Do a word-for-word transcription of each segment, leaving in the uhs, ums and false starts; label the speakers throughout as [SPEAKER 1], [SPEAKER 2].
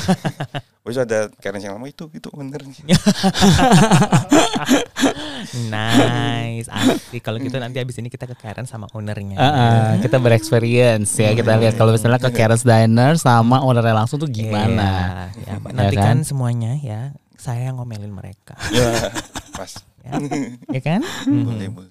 [SPEAKER 1] Terus ada Karen yang lama itu itu bener.
[SPEAKER 2] Nice, asik. Kalau gitu nanti abis ini kita ke Karen sama ownernya.
[SPEAKER 3] Uh, uh, kita berexperience ya, kita lihat kalau misalnya ke Karen's Diner sama ownernya langsung tuh gimana.
[SPEAKER 2] Iya, ya, nantikan kan? Semuanya ya, saya ngomelin mereka.
[SPEAKER 1] Ya, pas.
[SPEAKER 2] Ya, ya kan?
[SPEAKER 1] Boleh, boleh.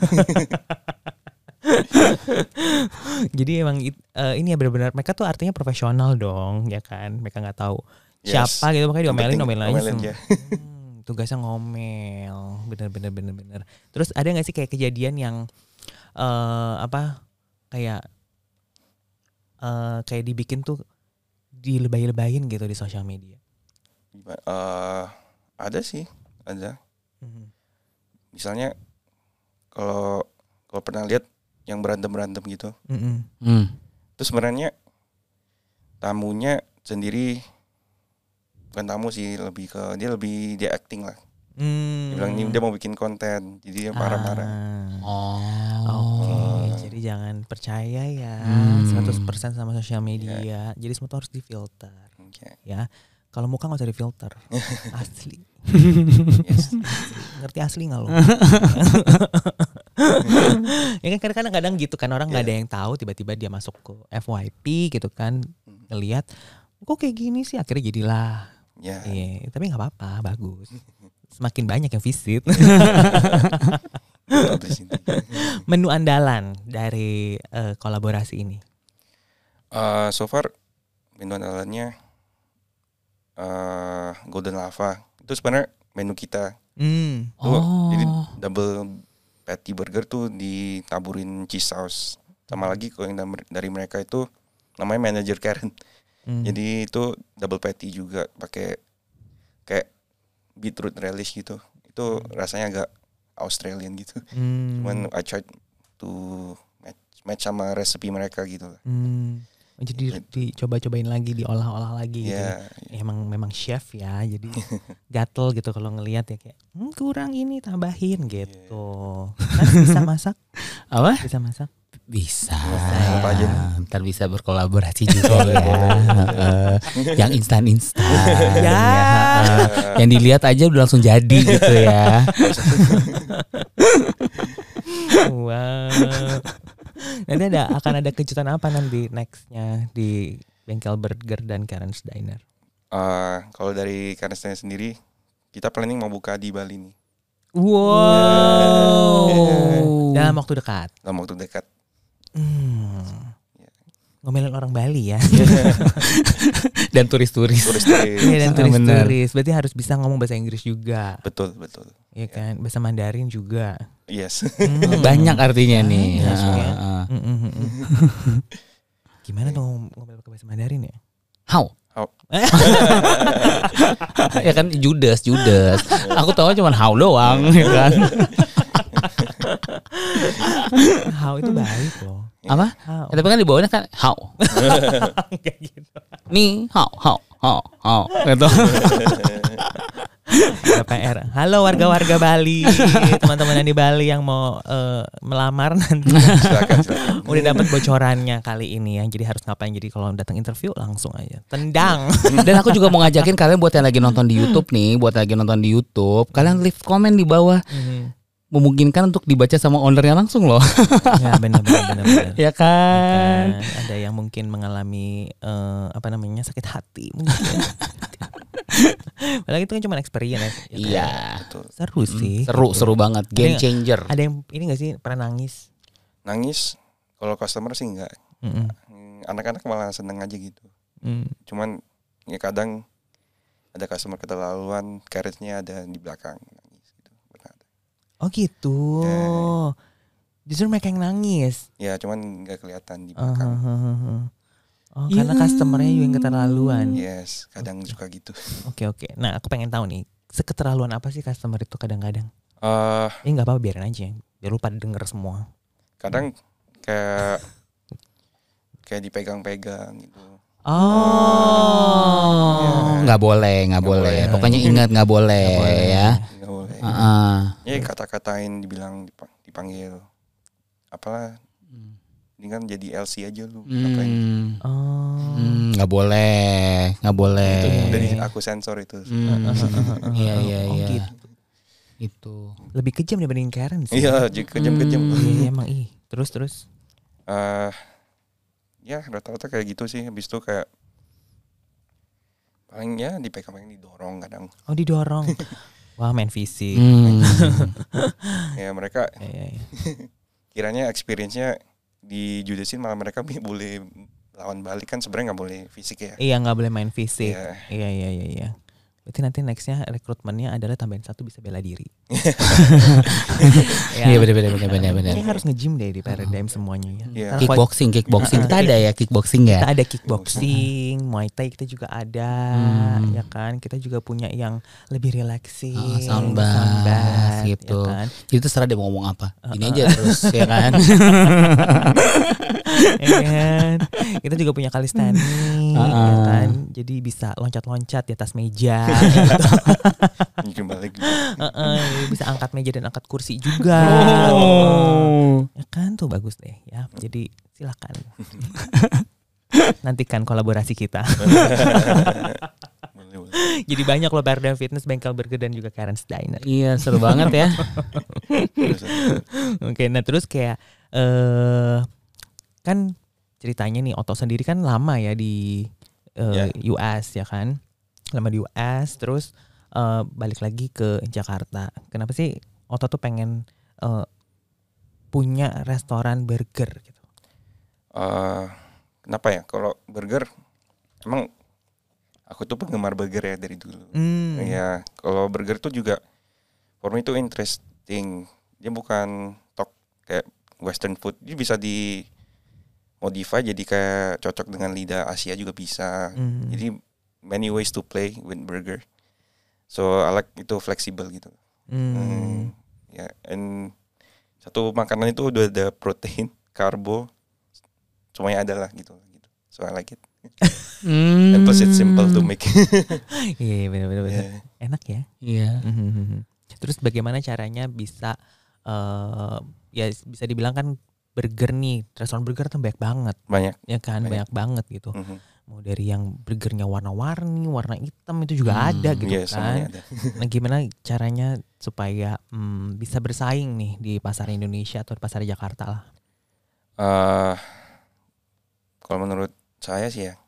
[SPEAKER 2] Jadi emang uh, ini ya benar-benar mereka tuh artinya profesional dong, ya kan? Mereka nggak tahu
[SPEAKER 1] Yes.
[SPEAKER 2] siapa gitu, makanya diomelin, omelin aja.
[SPEAKER 1] Omelin ya.
[SPEAKER 2] Hmm, tugasnya ngomel, bener-bener bener-bener. Terus ada nggak sih kayak kejadian yang uh, apa kayak uh, kayak dibikin tuh dilebay-lebayin gitu di sosial media?
[SPEAKER 1] Uh, ada sih, ada.
[SPEAKER 2] Hmm.
[SPEAKER 1] Misalnya kalau kalau pernah lihat yang berantem-berantem gitu,
[SPEAKER 2] Mm-hmm.
[SPEAKER 3] Hmm.
[SPEAKER 1] terus sebenarnya tamunya sendiri bukan tamu sih, lebih ke dia lebih dia acting lah.
[SPEAKER 2] Hmm.
[SPEAKER 1] Dia bilang ini dia mau bikin konten, jadi dia marah-marah.
[SPEAKER 2] Ah.
[SPEAKER 3] Oh.
[SPEAKER 2] Oke,
[SPEAKER 1] Oh.
[SPEAKER 2] jadi jangan percaya ya
[SPEAKER 3] Hmm.
[SPEAKER 2] seratus persen sama sosial media.
[SPEAKER 1] Yeah.
[SPEAKER 2] Jadi semua tuh harus difilter.
[SPEAKER 1] Okay.
[SPEAKER 2] Ya. Kalau muka gak usah difilter. Asli.
[SPEAKER 1] Yes.
[SPEAKER 2] Asli. Ngerti asli gak lo? Ya kan kadang-kadang kadang gitu kan, orang yeah. gak ada yang tahu, tiba-tiba dia masuk ke F Y P gitu kan, ngelihat kok kayak gini sih, akhirnya jadilah.
[SPEAKER 1] Ya.
[SPEAKER 2] Iya, tapi gak apa-apa, bagus. Semakin banyak yang visit. Menu andalan dari uh, kolaborasi ini?
[SPEAKER 1] Uh, so far menu andalannya uh, Golden Lava. Itu sebenarnya menu kita.
[SPEAKER 2] Hmm.
[SPEAKER 1] Tuh,
[SPEAKER 3] Oh.
[SPEAKER 1] jadi double patty burger tuh ditaburin cheese sauce. Sama lagi kalau yang dari mereka itu namanya Manager Karen. Hmm. Jadi itu double patty juga pakai kayak beetroot relish gitu. Itu rasanya agak Australian gitu.
[SPEAKER 2] Hmm.
[SPEAKER 1] Cuman I tried to match, match sama resepi mereka gitu lah.
[SPEAKER 2] Hmm. Jadi dicoba-cobain lagi, diolah-olah lagi gitu.
[SPEAKER 1] Yeah,
[SPEAKER 2] ya. Emang memang chef ya, jadi gatel gitu kalau ngelihat ya kayak hm, kurang ini tambahin gitu. Yeah. Kan bisa masak?
[SPEAKER 3] Apa?
[SPEAKER 2] Bisa masak?
[SPEAKER 3] Bisa.
[SPEAKER 1] Bisa ya.
[SPEAKER 3] Ntar bisa berkolaborasi juga ya. uh, yang instan-instan.
[SPEAKER 2] Ya.
[SPEAKER 3] ya uh, yang dilihat aja udah langsung jadi gitu ya.
[SPEAKER 2] Wow. Nanti ada akan ada kejutan apa nanti nextnya di Bengkel Burger dan Karen's Diner?
[SPEAKER 1] Uh, kalau dari Karen's Diner sendiri, kita planning mau buka di Bali nih.
[SPEAKER 2] Wow. Yeah. Dalam waktu dekat.
[SPEAKER 1] Dalam waktu dekat.
[SPEAKER 2] Hmm. Ngomelin orang Bali ya.
[SPEAKER 3] Dan turis-turis.
[SPEAKER 1] Turis-turis.
[SPEAKER 2] Iya, dan turis-turis. Berarti harus bisa ngomong bahasa Inggris juga.
[SPEAKER 1] Betul, betul.
[SPEAKER 2] Iya kan, bahasa Mandarin juga.
[SPEAKER 1] Yes.
[SPEAKER 2] Hmm.
[SPEAKER 3] Banyak artinya nih.
[SPEAKER 2] Banyak,
[SPEAKER 3] uh,
[SPEAKER 2] ya.
[SPEAKER 3] uh.
[SPEAKER 2] Mm, mm, mm. Gimana tuh ngomel pakai bahasa Mandarin ya?
[SPEAKER 3] How?
[SPEAKER 1] How?
[SPEAKER 3] Ya kan Judas, Judas. Aku tahu cuma how doang, ya kan.
[SPEAKER 2] How itu baik loh.
[SPEAKER 3] Apa?
[SPEAKER 2] How.
[SPEAKER 3] Ya, tapi kan di bawahnya kan how.
[SPEAKER 2] Kayak gitu.
[SPEAKER 3] Nih how, how, how, how. Gitu.
[SPEAKER 2] P R. Halo warga-warga Bali, teman-teman yang di Bali yang mau uh, melamar nanti.
[SPEAKER 1] Silakan, silakan.
[SPEAKER 2] Udah dapat bocorannya kali ini ya. Jadi harus ngapain? Jadi kalau datang interview langsung aja tendang.
[SPEAKER 3] Dan aku juga mau ngajakin kalian buat yang lagi nonton di YouTube nih, buat yang lagi nonton di YouTube, kalian leave komen di bawah.
[SPEAKER 2] Mm-hmm.
[SPEAKER 3] Memungkinkan untuk dibaca sama ownernya langsung loh.
[SPEAKER 2] Ya benar-benar.
[SPEAKER 3] Ya kan?
[SPEAKER 2] kan. Ada yang mungkin mengalami uh, apa namanya sakit hati mungkin. Padahal itu kan cuma experience. Ya,
[SPEAKER 3] iya.
[SPEAKER 1] Betul.
[SPEAKER 2] Seru sih.
[SPEAKER 3] Seru,
[SPEAKER 2] gitu.
[SPEAKER 3] seru banget. Game changer.
[SPEAKER 2] Ada yang ini nggak sih pernah nangis?
[SPEAKER 1] Nangis kalau customer sih enggak.
[SPEAKER 2] Mm-mm.
[SPEAKER 1] Anak-anak malah seneng aja gitu.
[SPEAKER 2] Mm.
[SPEAKER 1] Cuman ya kadang ada customer keterlaluan, karetnya ada di belakang.
[SPEAKER 2] Oh gitu. Yeah. Justru mereka yang nangis.
[SPEAKER 1] Ya cuman gak kelihatan di belakang.
[SPEAKER 2] Uh, uh, uh, uh. Oh yeah. Karena customernya juga yang keterlaluan.
[SPEAKER 1] Yes, kadang okay. suka gitu.
[SPEAKER 2] Oke okay, oke. Okay. Nah aku pengen tahu nih, seketerlaluan apa sih customer itu kadang-kadang?
[SPEAKER 1] Uh,
[SPEAKER 2] Ini nggak apa-apa, biarin aja. Biar lu pada denger semua.
[SPEAKER 1] Kadang kayak kayak dipegang-pegang gitu.
[SPEAKER 2] Oh,
[SPEAKER 3] nggak ya. boleh, nggak boleh. boleh. Pokoknya ingat nggak boleh, boleh ya.
[SPEAKER 1] Nggak boleh.
[SPEAKER 3] Uh-uh.
[SPEAKER 1] Ya kata-katain, dibilang dipanggil, apalah, Mendingan jadi L C aja lu. Ngapain?
[SPEAKER 3] Hmm.
[SPEAKER 2] Oh.
[SPEAKER 3] Hmm, nggak boleh, nggak boleh.
[SPEAKER 1] Itu dari aku sensor itu.
[SPEAKER 3] Hmm. Iya iya
[SPEAKER 2] Oh,
[SPEAKER 3] iya.
[SPEAKER 2] gitu.
[SPEAKER 3] Itu.
[SPEAKER 2] Lebih kejam dibanding Karen sih.
[SPEAKER 1] Iya, j- kejam-kejam.
[SPEAKER 3] Hmm.
[SPEAKER 2] Iya emang ih. Terus terus.
[SPEAKER 1] Eh, ya rata-rata kayak gitu sih. Habis itu kayak paling ya dipegang paling didorong kadang.
[SPEAKER 2] Oh didorong. Wah main fisik.
[SPEAKER 3] Hmm.
[SPEAKER 1] Ya mereka
[SPEAKER 2] Iya, iya, iya.
[SPEAKER 1] kiranya experience-nya di judesin malah mereka boleh lawan balik kan sebenarnya nggak boleh fisik ya.
[SPEAKER 2] Iya nggak boleh main fisik.
[SPEAKER 1] Iya.
[SPEAKER 2] Iya iya iya. iya. Berarti nanti nextnya rekrutmennya adalah tambahin satu bisa bela diri.
[SPEAKER 3] Iya benar benar benar benar benar.
[SPEAKER 2] Kayaknya harus nge-gym deh di Paradigm semuanya ya.
[SPEAKER 1] Iya.
[SPEAKER 2] Karena
[SPEAKER 3] Kickboxing, kickboxing. Kita ada ya kickboxing ya.
[SPEAKER 2] kita ada kickboxing, Muay Thai kita juga ada,
[SPEAKER 3] Hmm.
[SPEAKER 2] ya kan. Kita juga punya yang lebih relaxing,
[SPEAKER 3] Oh, sound bath, gitu.
[SPEAKER 2] ya kan.
[SPEAKER 3] Jadi terserah dia mau ngomong apa. Ini aja terus ya kan.
[SPEAKER 2] Ya kan? Kita juga punya calisthenics, ya
[SPEAKER 3] Uh-uh.
[SPEAKER 2] kan. Jadi bisa loncat-loncat di atas meja, gitu.
[SPEAKER 1] Mungkin balik.
[SPEAKER 2] Heeh, bisa angkat meja dan angkat kursi juga.
[SPEAKER 3] Oh.
[SPEAKER 2] Ya kan tuh bagus deh ya. Jadi silakan. Nantikan kolaborasi kita.
[SPEAKER 1] Boleh, boleh.
[SPEAKER 2] Jadi banyak loh Paradigm Fitness, Bengkel Burger dan juga Karen's Diner.
[SPEAKER 3] Iya seru banget ya.
[SPEAKER 2] Oke, nah terus kayak eh kan ceritanya nih Otto sendiri kan lama ya di eh, U S ya kan, lama di U S terus eh, balik lagi ke Jakarta. Kenapa sih Otto tuh pengen eh, punya restoran burger gitu?
[SPEAKER 1] Eh, kenapa ya? Kalau burger, emang aku tuh penggemar burger ya dari dulu.
[SPEAKER 2] Hmm.
[SPEAKER 1] Ya, kalau burger tuh juga for me itu interesting. Dia bukan tok kayak western food. Dia bisa di modify jadi kayak cocok dengan lidah Asia juga bisa.
[SPEAKER 2] Hmm.
[SPEAKER 1] Jadi many ways to play with burger. So I like itu fleksibel gitu.
[SPEAKER 2] Hmm.
[SPEAKER 1] Hmm, ya, and satu makanan itu udah ada protein, karbo, semuanya ada lah gitu. gitu. So I like it.
[SPEAKER 3] Hmm.
[SPEAKER 1] And plus it's simple to make.
[SPEAKER 2] Iya benar-benar
[SPEAKER 1] Yeah.
[SPEAKER 2] enak ya.
[SPEAKER 3] Iya.
[SPEAKER 2] Mhm. Terus bagaimana caranya bisa eh ya bisa dibilang kan burger nih, restoran burger tuh banyak banget
[SPEAKER 1] Banyak.
[SPEAKER 2] ya kan, banyak,
[SPEAKER 1] Banyak.
[SPEAKER 2] banget gitu.
[SPEAKER 1] Mhm.
[SPEAKER 2] Mau dari yang burgernya warna-warni, warna hitam itu juga
[SPEAKER 3] Hmm,
[SPEAKER 2] ada gitu
[SPEAKER 1] Iya, semuanya
[SPEAKER 2] kan.
[SPEAKER 1] ada.
[SPEAKER 2] Nah gimana caranya supaya hmm, bisa bersaing nih di pasar Indonesia atau di pasar Jakarta lah.
[SPEAKER 1] Eh, kalau menurut saya sih ya,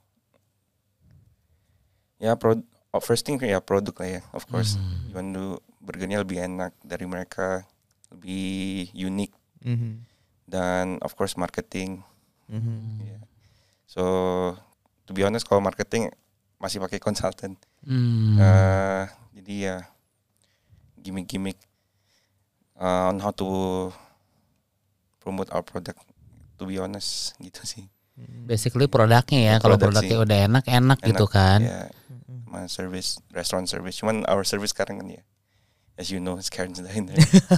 [SPEAKER 1] ya pro, oh, first thing ya produk lah ya, of course.
[SPEAKER 3] Hmm.
[SPEAKER 1] You want to burgernya lebih enak dari mereka, lebih unik, dan of course marketing. Ya. So to be honest, kalau marketing masih pakai konsultan.
[SPEAKER 3] Hmm.
[SPEAKER 1] Eh, jadi ya gimmick-gimmick uh, on how to promote our product. To be honest, gitu sih.
[SPEAKER 3] Basically produknya ya. Kalau
[SPEAKER 1] Produk
[SPEAKER 3] produknya
[SPEAKER 1] sih.
[SPEAKER 3] udah enak enak gitu kan.
[SPEAKER 1] Ya, sama service, restaurant service. Cuman our service sekarang kan ya, as you know, it's Karen's Diner.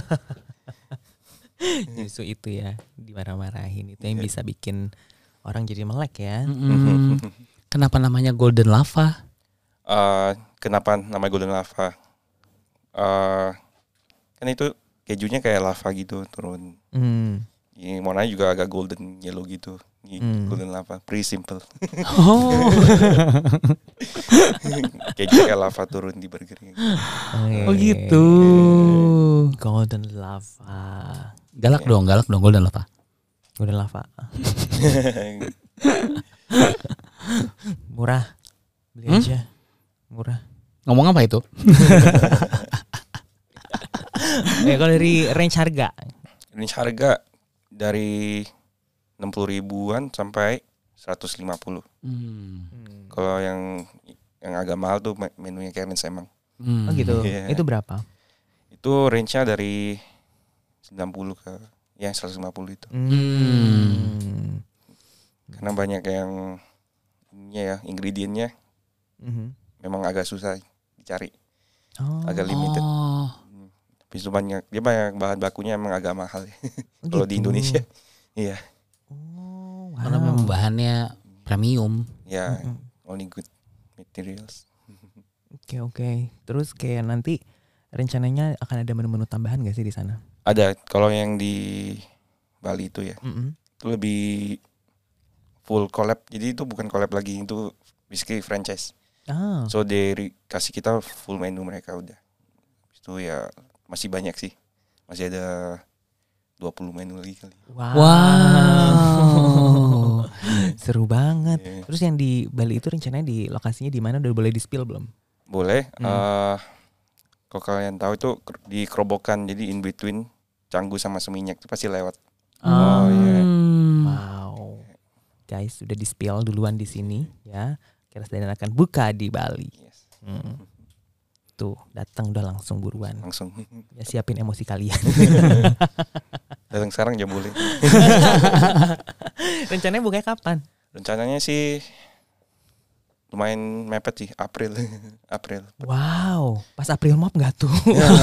[SPEAKER 2] Justru itu ya dimarah-marahin itu yang bisa bikin orang jadi melek ya.
[SPEAKER 3] Mm-mm. Kenapa namanya Golden Lava?
[SPEAKER 1] Uh, kenapa namanya Golden Lava? Uh, kan itu kejunya kayak lava gitu turun.
[SPEAKER 2] Hmm.
[SPEAKER 1] Ini warnanya juga agak golden yellow gitu. Ini
[SPEAKER 2] Hmm.
[SPEAKER 1] Golden lava, pretty simple.
[SPEAKER 3] Oh.
[SPEAKER 1] Keju kayak lava turun di burgernya.
[SPEAKER 3] Oh gitu.
[SPEAKER 2] Golden lava.
[SPEAKER 3] Galak dong, galak dong Golden Lava.
[SPEAKER 2] Golden lava. Murah. Beli
[SPEAKER 3] Hmm?
[SPEAKER 2] aja. Murah.
[SPEAKER 3] Ngomong apa itu?
[SPEAKER 2] Ya kalau dari range harga.
[SPEAKER 1] Ini harga dari enam puluh ribuan sampai seratus lima puluh.
[SPEAKER 3] Hmm.
[SPEAKER 1] Kalau yang yang agak mahal tuh me- menunya Karen's emang.
[SPEAKER 3] Hmm.
[SPEAKER 2] Oh gitu.
[SPEAKER 1] Iya.
[SPEAKER 2] Itu berapa?
[SPEAKER 1] Itu range-nya dari sembilan puluh ke ya seratus lima puluh itu.
[SPEAKER 2] Hmm.
[SPEAKER 1] Karena banyak yang ininya ya, ingredientnya
[SPEAKER 2] Mhm.
[SPEAKER 1] memang agak susah dicari.
[SPEAKER 2] Oh.
[SPEAKER 1] Agak limited.
[SPEAKER 3] Oh.
[SPEAKER 1] Habis itu banyak, dia banyak bahan bakunya emang agak mahal ya.
[SPEAKER 2] Oh,
[SPEAKER 1] Kalau di
[SPEAKER 2] gitu.
[SPEAKER 1] Indonesia. Iya.
[SPEAKER 2] Oh,
[SPEAKER 3] Karena
[SPEAKER 2] wow.
[SPEAKER 3] memang bahannya premium.
[SPEAKER 1] Ya,
[SPEAKER 2] Mm-mm.
[SPEAKER 1] only good materials.
[SPEAKER 2] Oke oke. Terus kayak nanti rencananya akan ada menu-menu tambahan gak sih di sana?
[SPEAKER 1] Ada kalau yang di Bali itu ya.
[SPEAKER 2] Mm-mm.
[SPEAKER 1] itu lebih full collab. Jadi itu bukan collab lagi, itu basically franchise.
[SPEAKER 2] Ah.
[SPEAKER 1] So dari kasih kita full menu mereka udah. Itu ya masih banyak sih. Masih ada dua puluh menu lagi kali.
[SPEAKER 2] Wow.
[SPEAKER 3] Wow.
[SPEAKER 2] Seru banget.
[SPEAKER 1] Yeah.
[SPEAKER 2] Terus yang di Bali itu rencananya di lokasinya di mana, udah boleh di-spill belum?
[SPEAKER 1] Boleh.
[SPEAKER 2] Hmm.
[SPEAKER 1] Uh, kalau kalian tahu itu di Kerobokan, jadi in between Canggu sama Seminyak itu pasti lewat.
[SPEAKER 2] Oh,
[SPEAKER 1] iya.
[SPEAKER 2] Wow. Guys, udah di-spill duluan di sini ya. Keras Diner akan buka di Bali.
[SPEAKER 1] Yes.
[SPEAKER 2] Hmm. Tuh, datang udah langsung buruan.
[SPEAKER 1] Langsung.
[SPEAKER 2] Ya siapin emosi kalian.
[SPEAKER 1] Datang sekarang aja boleh.
[SPEAKER 2] Rencananya bukanya kapan?
[SPEAKER 1] Rencananya sih lumayan mepet sih, April. April.
[SPEAKER 2] Wow, pas April Mop nggak tuh?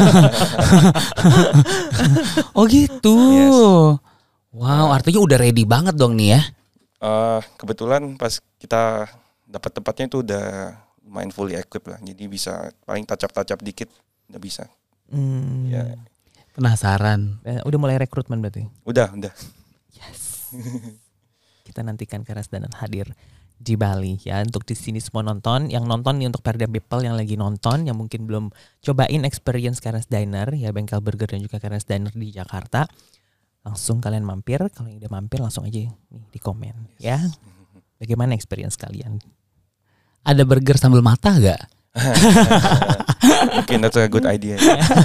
[SPEAKER 3] Oh gitu.
[SPEAKER 1] Yes.
[SPEAKER 3] Wow, artinya udah ready banget dong nih ya.
[SPEAKER 1] Uh, kebetulan pas kita dapat tempatnya itu udah lumayan fully equipped lah. Jadi bisa paling touch-up-touch-up dikit udah bisa.
[SPEAKER 2] Hmm.
[SPEAKER 1] Ya.
[SPEAKER 3] Penasaran.
[SPEAKER 2] Eh, Udah mulai rekrutmen berarti?
[SPEAKER 1] Udah, udah.
[SPEAKER 2] Yes. Kita nantikan Keras Diner hadir di Bali ya, untuk di sini semua nonton, yang nonton nih untuk Paradigm People yang lagi nonton, yang mungkin belum cobain experience Keras Diner ya, bengkel burger dan juga Keras Diner di Jakarta, langsung kalian mampir. Kalau yang udah mampir langsung aja nih di komen ya, bagaimana experience kalian.
[SPEAKER 3] Ada burger sambil mata gak?
[SPEAKER 1] Mungkin that's a good idea.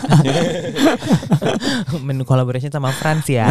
[SPEAKER 2] Menu collaboration sama Frans ya.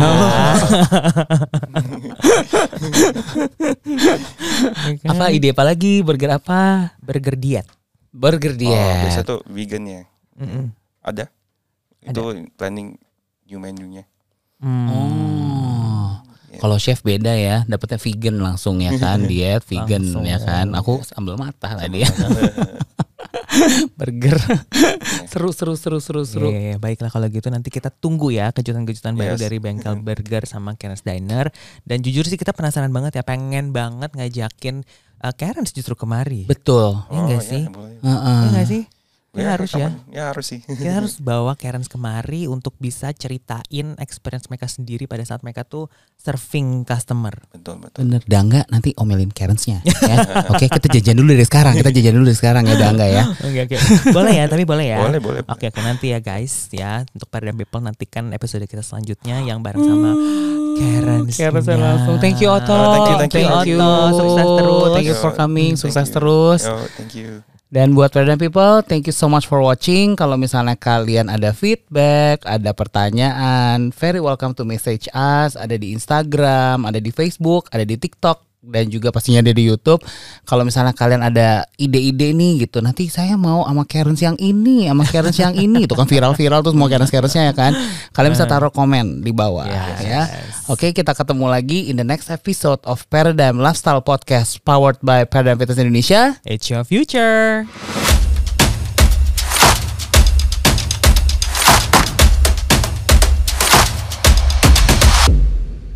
[SPEAKER 3] Apa ide apa lagi? Burger apa?
[SPEAKER 2] Burger diet.
[SPEAKER 3] Burger
[SPEAKER 1] Oh,
[SPEAKER 3] diet.
[SPEAKER 1] biasa tuh vegan ya.
[SPEAKER 2] Mm-mm.
[SPEAKER 1] Ada. Itu planning new menu-nya.
[SPEAKER 2] Hmm.
[SPEAKER 3] Oh.
[SPEAKER 1] Ya.
[SPEAKER 3] Kalau chef beda ya, dapetnya vegan langsung ya kan, diet vegan
[SPEAKER 2] Langsung.
[SPEAKER 3] ya kan. Aku sambil mata tadi ya. Burger. seru seru seru seru seru.
[SPEAKER 2] Iya, baiklah kalau gitu nanti kita tunggu ya kejutan-kejutan baru
[SPEAKER 1] Yes.
[SPEAKER 2] dari bengkel burger sama Keras Diner. Dan jujur sih kita penasaran banget ya, pengen banget ngajakin uh, Karen justru kemari.
[SPEAKER 3] Betul.
[SPEAKER 2] Iya nggak sih?
[SPEAKER 1] boleh.
[SPEAKER 3] Heeh.
[SPEAKER 2] Iya nggak sih? Ya, harus ya.
[SPEAKER 1] kapan? Ya harus sih.
[SPEAKER 2] Kita harus bawa Karen kemari untuk bisa ceritain experience mereka sendiri pada saat mereka tuh serving customer.
[SPEAKER 1] Betul, betul.
[SPEAKER 3] Bener, udah enggak nanti omelin Karensnya ya. Oke, kita jajan dulu dari sekarang. Kita jajan dulu dari sekarang ya, udah enggak ya.
[SPEAKER 2] Oke oke. Boleh ya, tapi boleh ya.
[SPEAKER 1] Boleh, boleh.
[SPEAKER 2] Oke oke, nanti ya guys ya, untuk Paradigm People nantikan episode kita selanjutnya yang bareng sama Karen.
[SPEAKER 3] Karen langsung. Thank you Otto.
[SPEAKER 1] Oh, thank you, thank you.
[SPEAKER 2] Otto. Sukses terus.
[SPEAKER 3] Thank you for coming.
[SPEAKER 1] Thank
[SPEAKER 3] Sukses
[SPEAKER 1] you.
[SPEAKER 3] terus.
[SPEAKER 1] Yo, thank you.
[SPEAKER 3] Dan buat Paradigm People, thank you so much for watching. Kalau misalnya kalian ada feedback, ada pertanyaan, very welcome to message us. Ada di Instagram, ada di Facebook, ada di TikTok, dan juga pastinya ada di YouTube. Kalau misalnya kalian ada ide-ide nih gitu, nanti saya mau sama Karen yang ini, sama Karen yang ini, itu kan viral-viral tuh semua Karen-Karennya ya kan. Kalian bisa taruh komen di bawah
[SPEAKER 2] Yes.
[SPEAKER 3] ya. Oke, kita ketemu lagi in the next episode of Paradigm Lifestyle Podcast powered by Paradigm Fitness Indonesia.
[SPEAKER 2] It's your future.